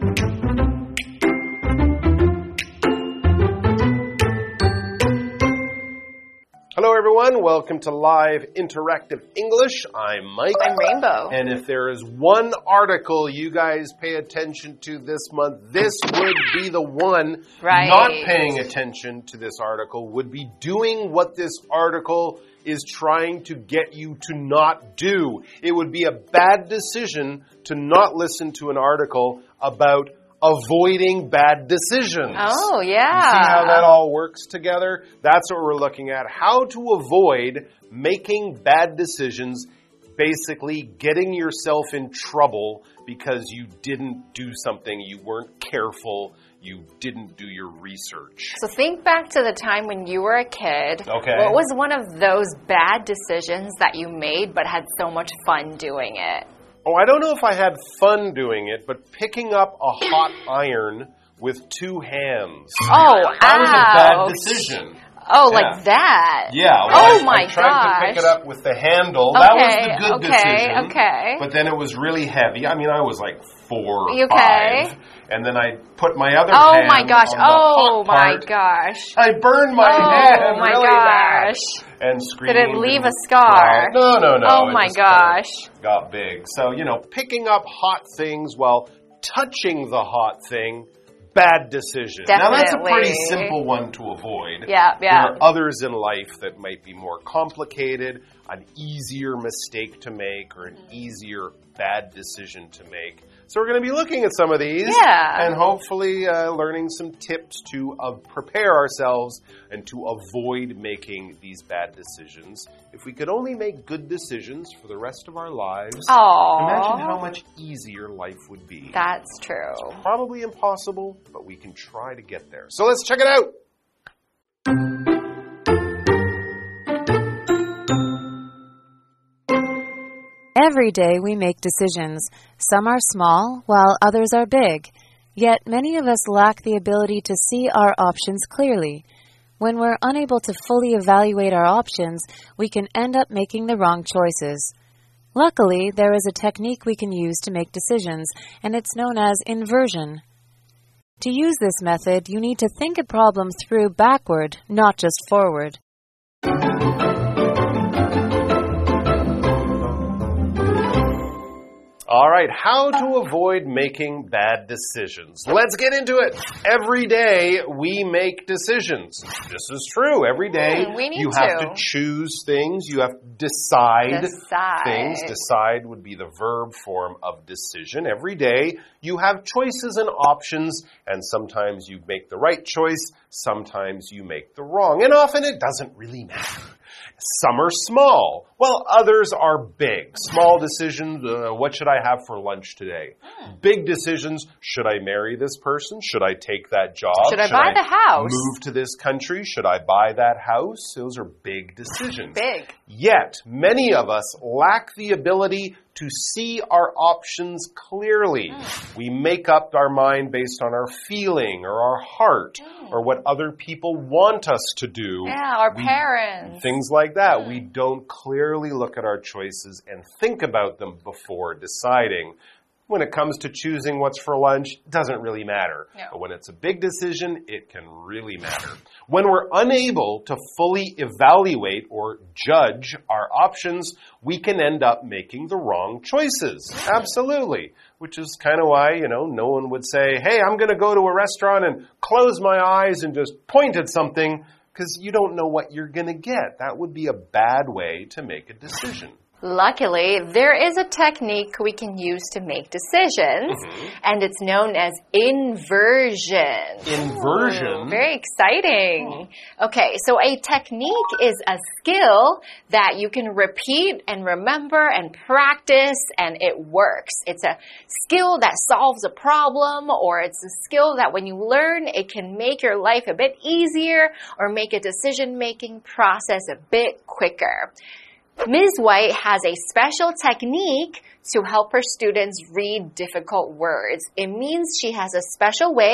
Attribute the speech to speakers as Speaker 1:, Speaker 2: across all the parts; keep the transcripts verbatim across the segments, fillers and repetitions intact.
Speaker 1: Hello everyone, welcome to Live Interactive English. I'm Mike.
Speaker 2: I'm Rainbow.
Speaker 1: And if there is one article you guys pay attention to this month, this would be the one.
Speaker 2: Right.
Speaker 1: Not paying attention to this article would be doing what this article is trying to get you to not do. It would be a bad decision to not listen to an article about avoiding bad decisions.
Speaker 2: Oh, yeah.
Speaker 1: You see how that all works together? That's what we're looking at. How to avoid making bad decisions, basically getting yourself in trouble because you didn't do something, you weren't careful, you didn't do your research.
Speaker 2: So think back to the time when you were a kid.
Speaker 1: Okay.
Speaker 2: What was one of those bad decisions that you made but had so much fun doing it?
Speaker 1: Oh, I don't know if I had fun doing it, but picking up a hot iron with two hands.
Speaker 2: Oh,
Speaker 1: That was a bad
Speaker 2: ouch.
Speaker 1: decision.
Speaker 2: Oh,
Speaker 1: Yeah.
Speaker 2: like that?
Speaker 1: Yeah. Well,
Speaker 2: oh,
Speaker 1: I,
Speaker 2: my
Speaker 1: I tried
Speaker 2: gosh.
Speaker 1: to pick it up with the handle.
Speaker 2: Okay,
Speaker 1: that was the good
Speaker 2: okay,
Speaker 1: decision.
Speaker 2: okay.
Speaker 1: But then it was really heavy. I mean, I was like four or
Speaker 2: You okay?
Speaker 1: five. And then I put my other
Speaker 2: Oh,
Speaker 1: hand
Speaker 2: my gosh.
Speaker 1: on the
Speaker 2: Oh,
Speaker 1: hot
Speaker 2: my
Speaker 1: part.
Speaker 2: gosh.
Speaker 1: I burned my
Speaker 2: oh,
Speaker 1: hand
Speaker 2: my
Speaker 1: really bad.
Speaker 2: gosh.
Speaker 1: And screamed.
Speaker 2: Did it leave
Speaker 1: and
Speaker 2: a scar?
Speaker 1: cried. No, no, no.
Speaker 2: Oh,
Speaker 1: It
Speaker 2: my
Speaker 1: just kinda
Speaker 2: gosh.
Speaker 1: got big. So, you know, picking up hot things while touching the hot thing, bad decision. Now, that's a pretty
Speaker 2: Definitely.
Speaker 1: simple one to avoid.
Speaker 2: Yeah, yeah.
Speaker 1: There are others in life that might be more complicated, an easier mistake to make, or an easier bad decision to make. So we're going to be looking at some of these
Speaker 2: Yeah.
Speaker 1: and hopefully uh, learning some tips to uh, prepare ourselves and to avoid making these bad decisions. If we could only make good decisions for the rest of our lives,
Speaker 2: Aww.
Speaker 1: imagine how much easier life would be.
Speaker 2: That's true.
Speaker 1: Probably impossible, but we can try to get there. So let's check it out.
Speaker 3: Every day we make decisions. Some are small, while others are big. Yet many of us lack the ability to see our options clearly. When we're unable to fully evaluate our options, we can end up making the wrong choices. Luckily, there is a technique we can use to make decisions, and it's known as inversion. To use this method, you need to think a problem through backward, not just forward.
Speaker 1: All right, how to avoid making bad decisions. Let's get into it. Every day we make decisions. This is true. Every day
Speaker 2: Mm, we need
Speaker 1: you have
Speaker 2: to.
Speaker 1: to choose things. You have to decide,
Speaker 2: Decide.
Speaker 1: things. Decide would be the verb form of decision. Every day you have choices and options, and sometimes you make the right choice, sometimes you make the wrong, and often it doesn't really matter. Some are small, while others are big. Small decisions, uh, what should I have for lunch today? Big decisions, should I marry this person? Should I take that job?
Speaker 2: Should I buy the house?
Speaker 1: Move to this country? Should I buy that house? Those are big decisions.
Speaker 2: Big.
Speaker 1: Yet, many of us lack the ability to see our options clearly. Mm. We make up our mind based on our feeling or our heart mm. or what other people want us to do.
Speaker 2: Yeah, our
Speaker 1: we,
Speaker 2: parents.
Speaker 1: Things like that. Mm. We don't clearly look at our choices and think about them before deciding. When it comes to choosing what's for lunch, it doesn't really matter.
Speaker 2: No.
Speaker 1: But when it's a big decision, it can really matter. When we're unable to fully evaluate or judge our options, we can end up making the wrong choices. Absolutely. Which is kind of why, you know, no one would say, hey, I'm going to go to a restaurant and close my eyes and just point at something, because you don't know what you're going to get. That would be a bad way to make a decision.
Speaker 2: Luckily, there is a technique we can use to make decisions, mm-hmm. and it's known as inversion.
Speaker 1: Inversion?
Speaker 2: Ooh, very exciting. Okay, so a technique is a skill that you can repeat and remember and practice, and it works. It's a skill that solves a problem, or it's a skill that when you learn, it can make your life a bit easier or make a decision-making process a bit quicker. Miz White has a special technique to help her students read difficult words. It means she has a special way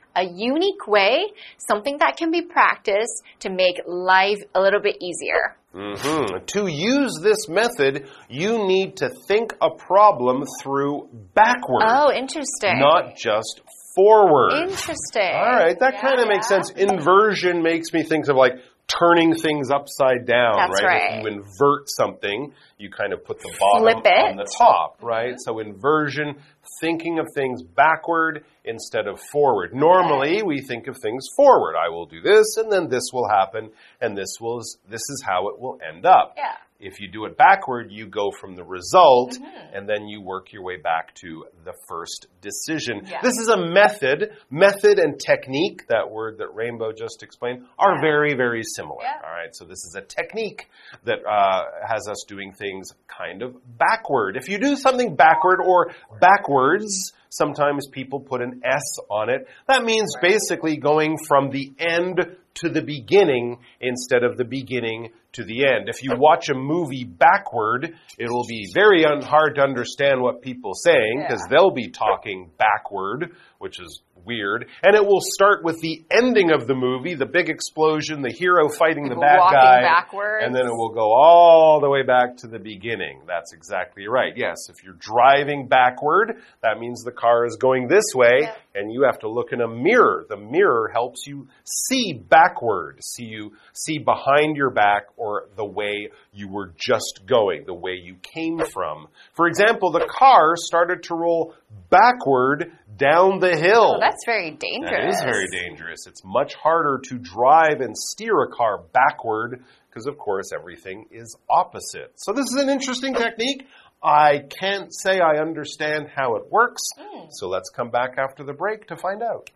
Speaker 2: a unique way, something that can be practiced to make life a little bit easier.
Speaker 1: Mm-hmm. To use this method, you need to think a problem through backward.
Speaker 2: Oh, interesting.
Speaker 1: Not just forward.
Speaker 2: Interesting.
Speaker 1: All right, that
Speaker 2: yeah,
Speaker 1: kind of
Speaker 2: yeah.
Speaker 1: makes sense. Inversion makes me think of like turning things upside down,
Speaker 2: That's
Speaker 1: right?
Speaker 2: right.
Speaker 1: If you invert something, you kind of put the bottom
Speaker 2: Flip it.
Speaker 1: on the top, right? Mm-hmm. So inversion, thinking of things backward instead of forward. Normally, we think of things forward. I will do this, and then this will happen, and this will this is how it will end up.
Speaker 2: Yeah.
Speaker 1: If you do it backward, you go from the result,
Speaker 2: mm-hmm.
Speaker 1: and then you work your way back to the first decision.
Speaker 2: Yeah.
Speaker 1: This is a method. Method and technique, that word that Rainbow just explained, are
Speaker 2: yeah.
Speaker 1: very, very similar.
Speaker 2: Yeah.
Speaker 1: All right, so this is a technique that uh, has us doing things kind of backward. If you do something backward or backwards, sometimes people put an S on it. That means
Speaker 2: right.
Speaker 1: basically going from the end to the beginning instead of the beginning to the end. If you watch a movie backward, it'll be very un hard to understand what people are saying because yeah. they'll be talking backward, which is weird. And it will start with the ending of the movie, the big explosion, the hero fighting
Speaker 2: people
Speaker 1: the bad
Speaker 2: walking
Speaker 1: guy.
Speaker 2: Backwards.
Speaker 1: And then it will go all the way back to the beginning. That's exactly right. Yes, if you're driving backward, that means the car is going this way,
Speaker 2: yeah.
Speaker 1: and you have to look in a mirror. The mirror helps you see backward, see you see behind your back or the way you were just going, the way you came from. For example, the car started to roll backward down the hill.
Speaker 2: Oh, that's very dangerous.
Speaker 1: That is very dangerous. It's much harder to drive and steer a car backward because, of course, everything is opposite. So this is an interesting technique. I can't say I understand how it works. Mm. So let's come back after the break to find out.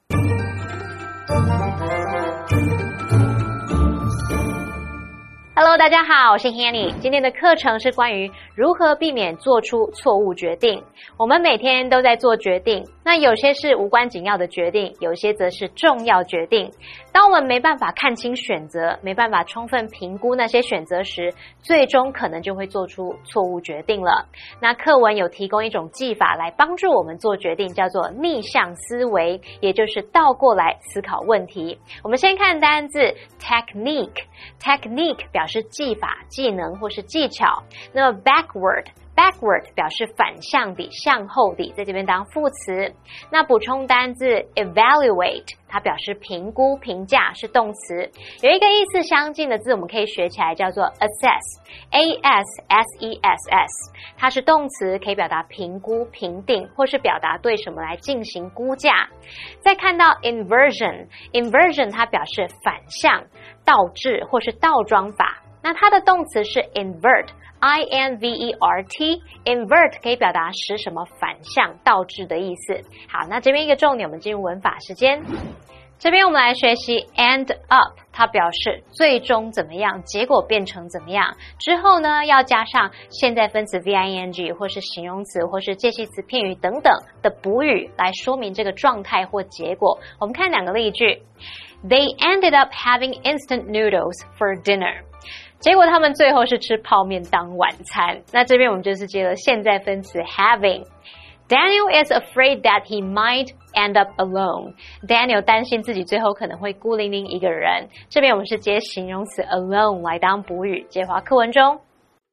Speaker 4: Hello， 大家好，我是 Hanny。今天的課程是關於如何避免做出錯誤決定。我們每天都在做決定，那有些是無關緊要的決定，有些則是重要決定。當我們沒辦法看清選擇，沒辦法充分評估那些選擇時，最終可能就會做出錯誤決定了。那課文有提供一種技法來幫助我們做決定，叫做逆向思維，也就是倒過來思考問題。我們先看單字 technique，technique 表示是技法、技能或是技巧。那麼 backward backward 表示反向的、向後的，在這邊當副詞。那補充單字 evaluate， 它表示評估、評價，是動詞。有一個意思相近的字，我們可以學起來，叫做 assess，A S S E S S， 它是動詞，可以表達評估、評定，或是表達對什麼來進行估價。再看到 inversion，inversion 它表示反向、倒置或是倒裝法。那它的動詞是 invert，I N V E R T，invert 可以表達使什麼反向、倒置的意思。好，那這邊一個重點，我們進入文法時間。這邊我們來學習 end up， 它表示最終怎麼樣，結果變成怎麼樣。之後呢，要加上現在分詞 V I N G 或是形容詞或是介系詞片語等等的補語來說明這個狀態或結果。我們看兩個例句。They ended up having instant noodles for dinner。結果他們最後是吃泡麵當晚餐。那這邊我們就是接了現在分詞 having。Daniel is afraid that he might end up alone. Daniel 擔心自己最後可能會孤零零一個人。這邊我們是接形容詞 alone 來當補語。接華課文中。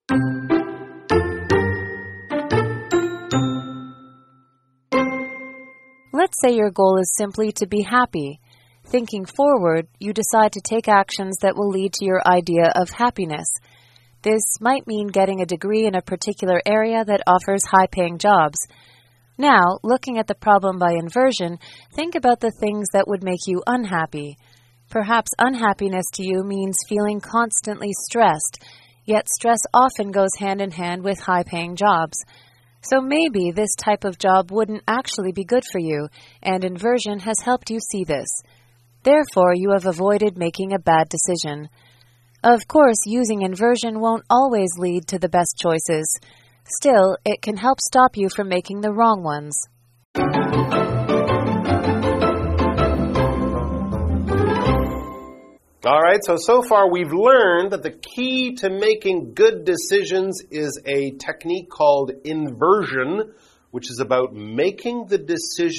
Speaker 3: Let's say your goal is simply to be happy. Thinking forward, you decide to take actions that will lead to your idea of happiness. This might mean getting a degree in a particular area that offers high-paying jobs. Now, looking at the problem by inversion, think about the things that would make you unhappy. Perhaps unhappiness to you means feeling constantly stressed, yet stress often goes hand in hand with high-paying jobs. So maybe this type of job wouldn't actually be good for you, and inversion has helped you see this. Therefore, you have avoided making a bad decision. Of course, using inversion won't always lead to the best choices. Still, it can help stop you from making the wrong ones.
Speaker 1: All right, so so far we've learned that the key to making good decisions is a technique called inversion, which is about making the decision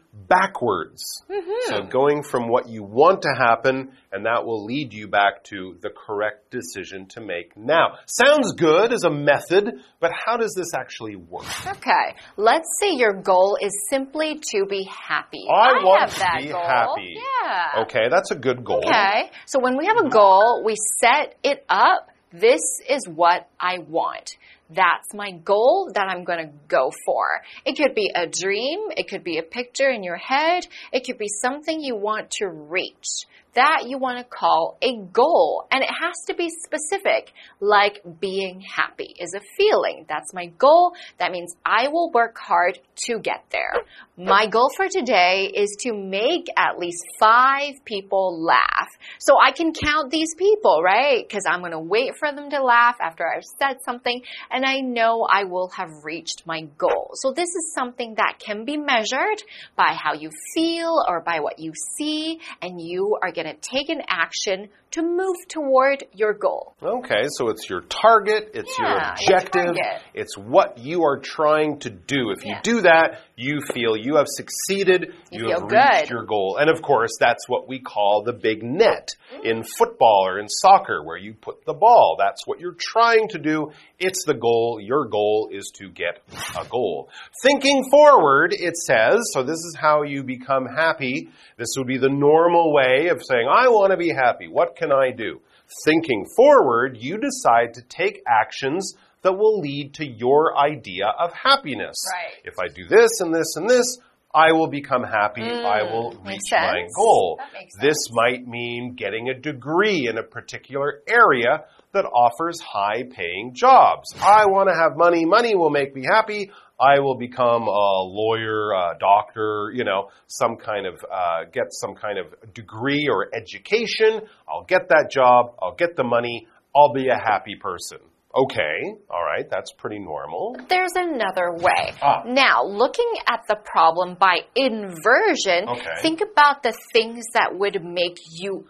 Speaker 1: backwards. Mm-hmm. So going from what you want to happen, and that will lead you back to the correct decision to make now. Sounds good as a method, but how does this actually work?
Speaker 2: Okay, let's say your goal is simply to be happy.
Speaker 1: I,
Speaker 2: I
Speaker 1: want
Speaker 2: have
Speaker 1: to
Speaker 2: that
Speaker 1: be
Speaker 2: goal.
Speaker 1: happy.
Speaker 2: Yeah.
Speaker 1: Okay, that's a good goal.
Speaker 2: Okay, so when we have a goal, we set it up. This is what I want. That's my goal that I'm going to go for. It could be a dream. It could be a picture in your head. It could be something you want to reach. That you want to call a goal. And it has to be specific, like being happy is a feeling. That's my goal. That means I will work hard to get there. My goal for today is to make at least five people laugh. So I can count these people, right? Because I'm going to wait for them to laugh after I've said something, and I know I will have reached my goal. So this is something that can be measured by how you feel or by what you see, and you are going to take an action to move toward your goal.
Speaker 1: Okay, so it's your target, it's
Speaker 2: yeah,
Speaker 1: your objective,
Speaker 2: your target.
Speaker 1: It's what you are trying to do. If you
Speaker 2: yeah.
Speaker 1: do that, you feel you have succeeded, you,
Speaker 2: you
Speaker 1: have
Speaker 2: feel
Speaker 1: reached
Speaker 2: good.
Speaker 1: your goal. And of course, that's what we call the big net in football or in soccer, where you put the ball. That's what you're trying to do. It's the goal. Your goal is to get a goal. Thinking forward, it says, so this is how you become happy. This would be the normal way of saying, I want to be happy. What can I do? Thinking forward, you decide to take actions that will lead to your idea of happiness.
Speaker 2: Right.
Speaker 1: If I do this and this and this, I will become happy.
Speaker 2: Mm,
Speaker 1: I will reach
Speaker 2: makes
Speaker 1: my
Speaker 2: sense.
Speaker 1: goal.
Speaker 2: That makes sense.
Speaker 1: This might mean getting a degree in a particular area that offers high-paying jobs. I want to have money. Money will make me happy. I will become a lawyer, a doctor, you know, some kind of, uh, get some kind of degree or education. I'll get that job. I'll get the money. I'll be a happy person. Okay, all right, that's pretty normal.
Speaker 2: There's another way.
Speaker 1: Ah.
Speaker 2: Now, looking at the problem by inversion,
Speaker 1: Okay.
Speaker 2: think about the things that would make you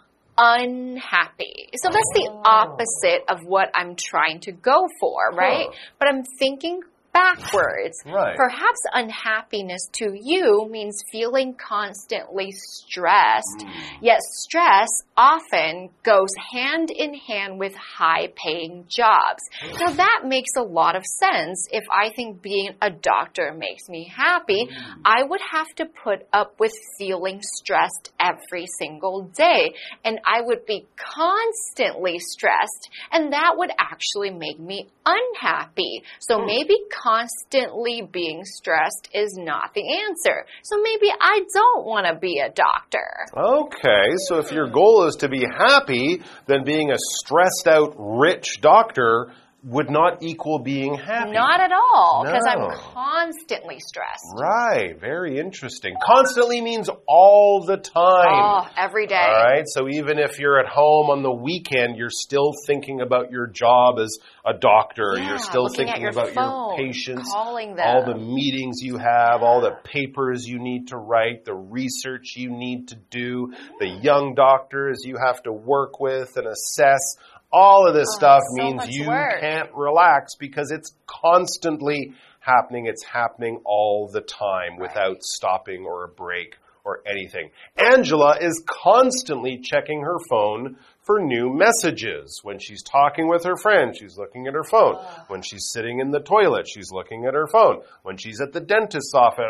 Speaker 2: unhappy. So that's the opposite of what I'm trying to go for, right?
Speaker 1: Huh.
Speaker 2: But I'm thinking backwards.
Speaker 1: Right.
Speaker 2: Perhaps unhappiness to you means feeling constantly stressed.
Speaker 1: Mm.
Speaker 2: Yet stress often goes hand in hand with high-paying jobs. Now that makes a lot of sense. If I think being a doctor makes me happy, mm. I would have to put up with feeling stressed every single day. And I would be constantly stressed, and that would actually make me unhappy. So mm. maybe constantly being stressed is not the answer. So maybe I don't want to be a doctor.
Speaker 1: Okay, so if your goal is to be happy, then being a stressed out rich doctor would not equal being happy.
Speaker 2: Not at all, because
Speaker 1: No.
Speaker 2: I'm constantly stressed.
Speaker 1: Right, very interesting. Constantly means all the time.
Speaker 2: Oh, every day.
Speaker 1: All right, so even if you're at home on the weekend, you're still thinking about your job as a doctor.
Speaker 2: Yeah,
Speaker 1: you're still
Speaker 2: looking at
Speaker 1: thinking
Speaker 2: your
Speaker 1: about
Speaker 2: phone,
Speaker 1: your patients,
Speaker 2: calling them.
Speaker 1: all the meetings you have, all the papers you need to write, the research you need to do, the young doctors you have to work with and assess. All of this
Speaker 2: Oh,
Speaker 1: stuff
Speaker 2: so
Speaker 1: means
Speaker 2: much
Speaker 1: you
Speaker 2: work.
Speaker 1: can't relax because it's constantly happening. It's happening all the time without stopping or a break or anything. Angela is constantly checking her phone for new messages. When she's talking with her friend, she's looking at her phone.
Speaker 2: Oh.
Speaker 1: When she's sitting in the toilet, she's looking at her phone. When she's at the dentist's office,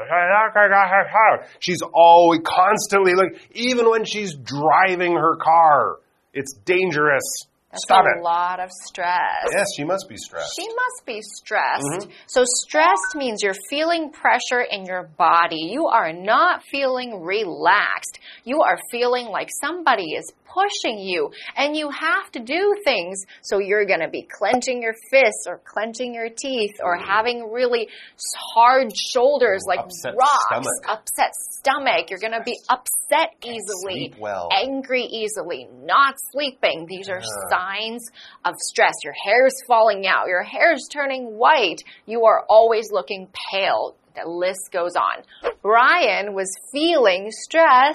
Speaker 1: she's always constantly looking, even when she's driving her car. It's dangerous.
Speaker 2: That's
Speaker 1: Stop
Speaker 2: a
Speaker 1: it.
Speaker 2: lot of stress.
Speaker 1: Yes, she must be stressed.
Speaker 2: She must be stressed.
Speaker 1: Mm-hmm.
Speaker 2: So stressed means you're feeling pressure in your body. You are not feeling relaxed. You are feeling like somebody is pushing you, and you have to do things. So you're going to be clenching your fists or clenching your teeth or
Speaker 1: Mm.
Speaker 2: having really hard shoulders like
Speaker 1: Upset
Speaker 2: rocks,
Speaker 1: stomach.
Speaker 2: upset stomach. You're going to be upset easily,
Speaker 1: sleep well.
Speaker 2: angry easily, not sleeping. These are
Speaker 1: Yeah.
Speaker 2: signs of stress. Your hair is falling out. Your hair is turning white. You are always looking pale. The list goes on. Brian was feeling stressed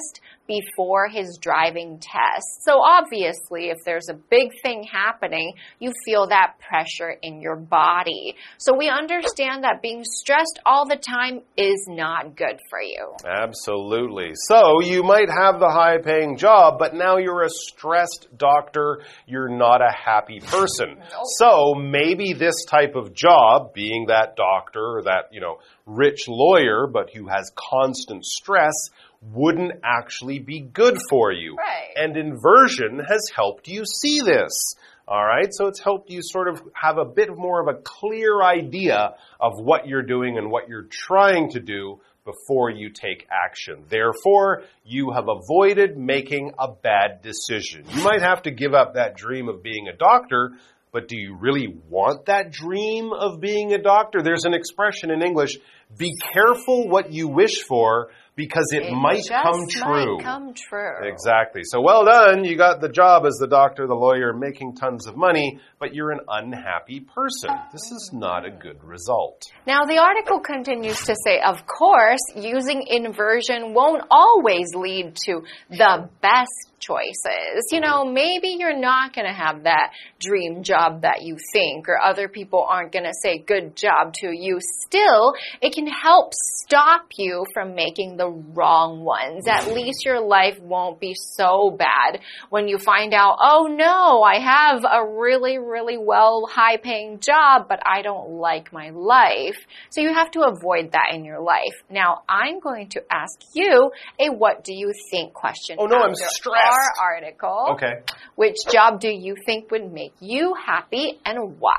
Speaker 2: before his driving test. So obviously, if there's a big thing happening, you feel that pressure in your body. So we understand that being stressed all the time is not good for you.
Speaker 1: Absolutely. So you might have the high-paying job, but now you're a stressed doctor. You're not a happy person.
Speaker 2: Nope.
Speaker 1: So maybe this type of job, being that doctor or that, you know, rich lawyer, but who has constant stress, wouldn't actually be good for you.
Speaker 2: Right.
Speaker 1: And inversion has helped you see this. All right, so it's helped you sort of have a bit more of a clear idea of what you're doing and what you're trying to do before you take action. Therefore, you have avoided making a bad decision. You might have to give up that dream of being a doctor, but do you really want that dream of being a doctor? There's an expression in English, be careful what you wish for, because it, it might come true.
Speaker 2: Might come true.
Speaker 1: Exactly. So well done. You got the job as the doctor, the lawyer, making tons of money, but you're an unhappy person. This is not a good result.
Speaker 2: Now, the article continues to say, of course, using inversion won't always lead to the best choices. You know, maybe you're not going to have that dream job that you think, or other people aren't going to say good job to you. Still, it can help stop you from making the wrong ones. At least your life won't be so bad when you find out, oh no, I have a really, really well high-paying job, but I don't like my life. So you have to avoid that in your life. Now, I'm going to ask you a what do you think question.
Speaker 1: Oh no, I'm stressed.
Speaker 2: Our article.
Speaker 1: Okay.
Speaker 2: Which job do you think would make you happy and why?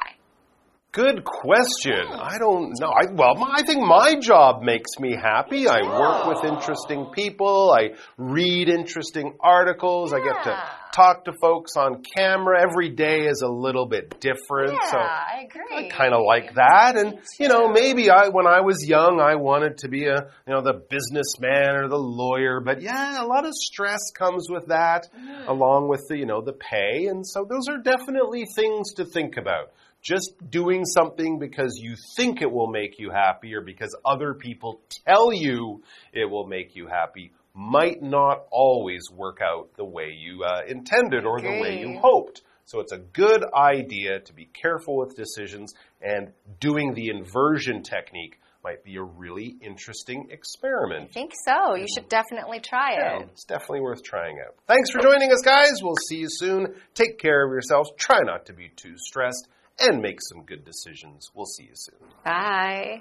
Speaker 1: Good question. I don't know. I, well, my, I think my job makes me happy. I work with interesting people. I read interesting articles.
Speaker 2: Yeah.
Speaker 1: I get to talk to folks on camera. Every day is a little bit different.
Speaker 2: Yeah,
Speaker 1: so
Speaker 2: I agree.
Speaker 1: I kind of like that. And, you know, maybe I, when I was young, I wanted to be a, you know, the businessman or the lawyer. But yeah, a lot of stress comes with that, mm. along with the, you know, the pay. And so those are definitely things to think about. Just doing something because you think it will make you happy or because other people tell you it will make you happy might not always work out the way you uh, intended or the way you hoped. So it's a good idea to be careful with decisions, and doing the inversion technique might be a really interesting experiment.
Speaker 2: I think so. You should definitely try
Speaker 1: yeah,
Speaker 2: it.
Speaker 1: It's definitely worth trying out. Thanks for joining us, guys. We'll see you soon. Take care of yourselves. Try not to be too stressed. And make some good decisions. We'll see you soon.
Speaker 2: Bye.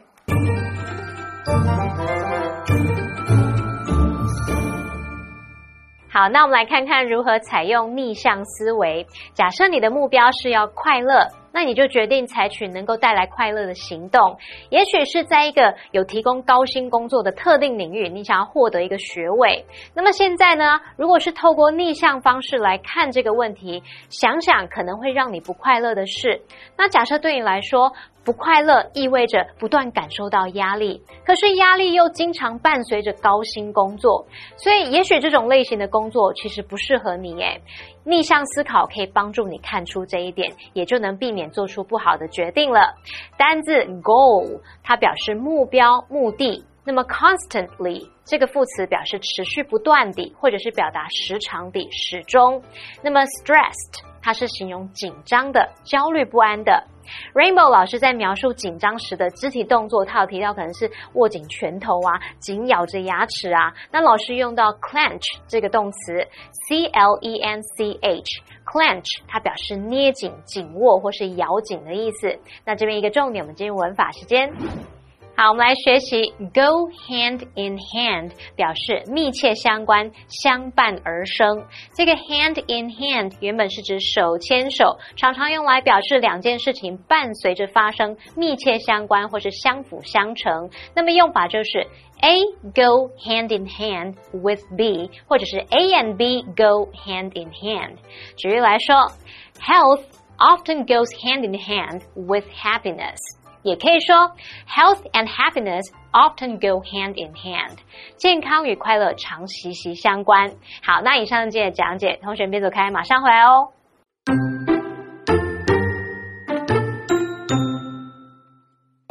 Speaker 4: 好，那我们来看看如何採用逆向思維。假設你的目標是要快樂，那你就決定採取能夠帶來快樂的行動。也許是在一個有提供高薪工作的特定領域，你想要獲得一個學位。那麼現在呢，如果是透過逆向方式來看這個問題，想想可能會讓你不快樂的事。那假設對你來說，不快樂意味着不斷感受到壓力，可是壓力又經常伴隨着高薪工作，所以也許這種類型的工作其實不適合你耶。逆向思考可以幫助你看出這一點，也就能避免做出不好的決定了。單字 goal 它表示目標、目的，那麼 constantly 這個副詞表示持續不斷地，或者是表達時常地、始終。那麼 stressed 它是形容緊張的、焦慮不安的。Rainbow 老師在描述緊張時的肢體動作，他有提到可能是握緊拳頭啊，緊咬着牙齒啊。那老師用到 clench 這個動詞 C L E N C H clench 它表示捏緊、緊握或是咬緊的意思。那這邊一個重點，我們進入文法時間。好，我們來學習 go hand in hand 表示密切相關，相伴而生。這個 hand in hand 原本是指手牽手，常常用來表示兩件事情伴隨着發生，密切相關或是相輔相成。那麼用法就是 A go hand in hand with B， 或者是 A and B go hand in hand。舉例來說 ，health often goes hand in hand with happiness。也可以說 health and happiness often go hand in hand。健康與快樂常息息相關。好，那以上今天的講解，同學別走開，馬上回來哦。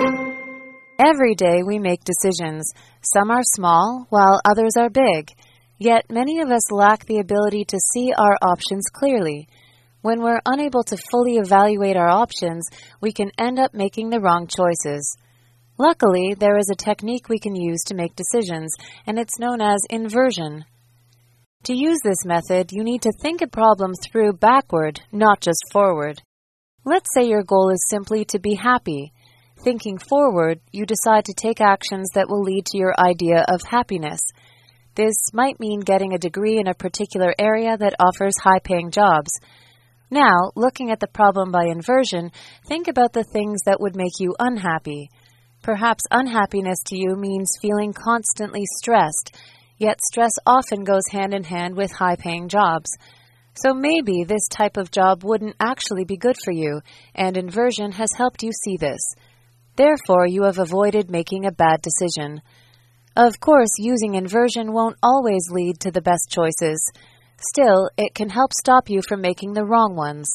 Speaker 3: Every day we make decisions. Some are small, while others are big. Yet many of us lack the ability to see our options clearly. When we're unable to fully evaluate our options, we can end up making the wrong choices. Luckily, there is a technique we can use to make decisions, and it's known as inversion. To use this method, you need to think a problem through backward, not just forward. Let's say your goal is simply to be happy. Thinking forward, you decide to take actions that will lead to your idea of happiness. This might mean getting a degree in a particular area that offers high-paying jobs. Now, looking at the problem by inversion, think about the things that would make you unhappy. Perhaps unhappiness to you means feeling constantly stressed, yet stress often goes hand in hand with high-paying jobs. So maybe this type of job wouldn't actually be good for you, and inversion has helped you see this. Therefore, you have avoided making a bad decision. Of course, using inversion won't always lead to the best choices. Still, it can help stop you from making the wrong ones.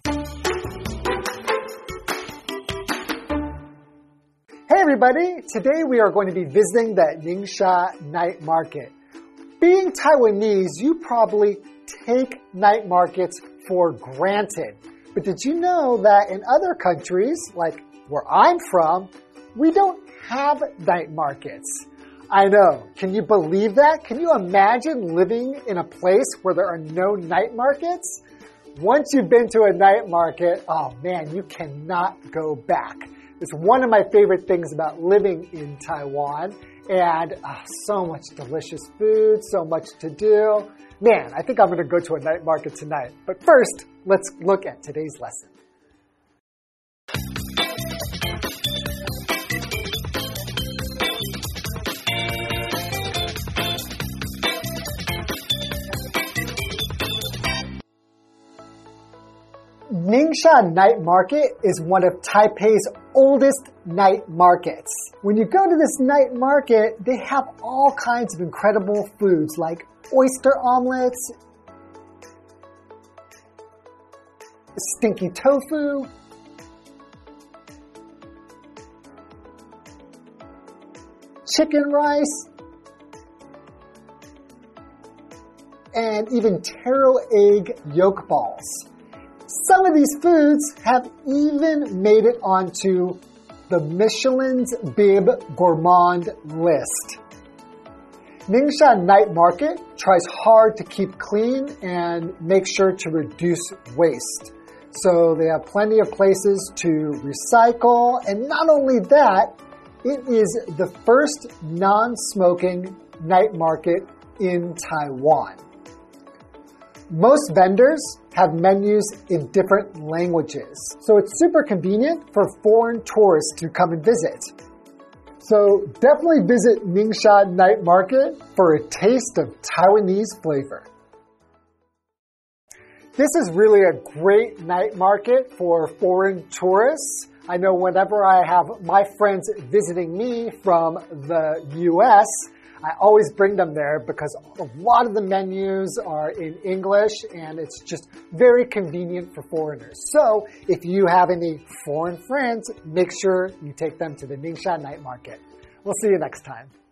Speaker 5: Hey everybody! Today we are going to be visiting the Ningxia Night Market. Being Taiwanese, you probably take night markets for granted. But did you know that in other countries, like where I'm from, we don't have night markets? I know. Can you believe that? Can you imagine living in a place where there are no night markets? Once you've been to a night market, oh man, you cannot go back. It's one of my favorite things about living in Taiwan, and oh, so much delicious food, so much to do. Man, I think I'm going to go to a night market tonight. But first, let's look at today's lesson. Ningxia Night Market is one of Taipei's oldest night markets. When you go to this night market, they have all kinds of incredible foods like oyster omelets, stinky tofu, chicken rice, and even taro egg yolk balls. Some of these foods have even made it onto the Michelin's Bib Gourmand list. Ningxia Night Market tries hard to keep clean and make sure to reduce waste. So they have plenty of places to recycle, and not only that, it is the first non-smoking night market in Taiwan. Most vendors have menus in different languages, so it's super convenient for foreign tourists to come and visit. So definitely visit Ningxia Night Market for a taste of Taiwanese flavor. This is really a great night market for foreign tourists. I know whenever I have my friends visiting me from the U S, I always bring them there because a lot of the menus are in English and it's just very convenient for foreigners. So if you have any foreign friends, make sure you take them to the Ningxia Night Market. We'll see you next time.